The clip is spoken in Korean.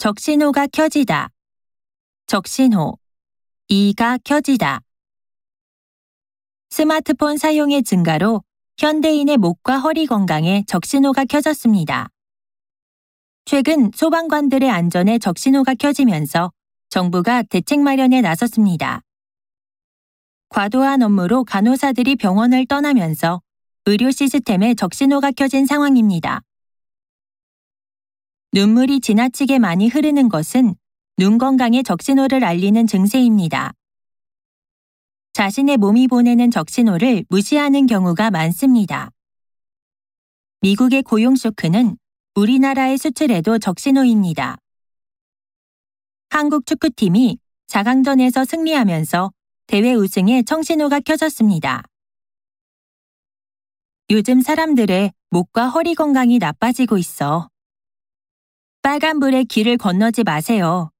적신호가 켜지다. 적신호. 이가 켜지다. 스마트폰 사용의 증가로 현대인의 목과 허리 건강에 적신호가 켜졌습니다. 최근 소방관들의 안전에 적신호가 켜지면서 정부가 대책 마련에 나섰습니다. 과도한 업무로 간호사들이 병원을 떠나면서 의료 시스템에 적신호가 켜진 상황입니다. 눈물이 지나치게 많이 흐르는 것은 눈 건강에 적신호를 알리는 증세입니다. 자신의 몸이 보내는 적신호를 무시하는 경우가 많습니다. 미국의 고용 쇼크는 우리나라의 수출에도 적신호입니다. 한국 축구팀이 4강전에서 승리하면서 대회 우승에 청신호가 켜졌습니다. 요즘 사람들의 목과 허리 건강이 나빠지고 있어. 빨간불에 길을 건너지 마세요.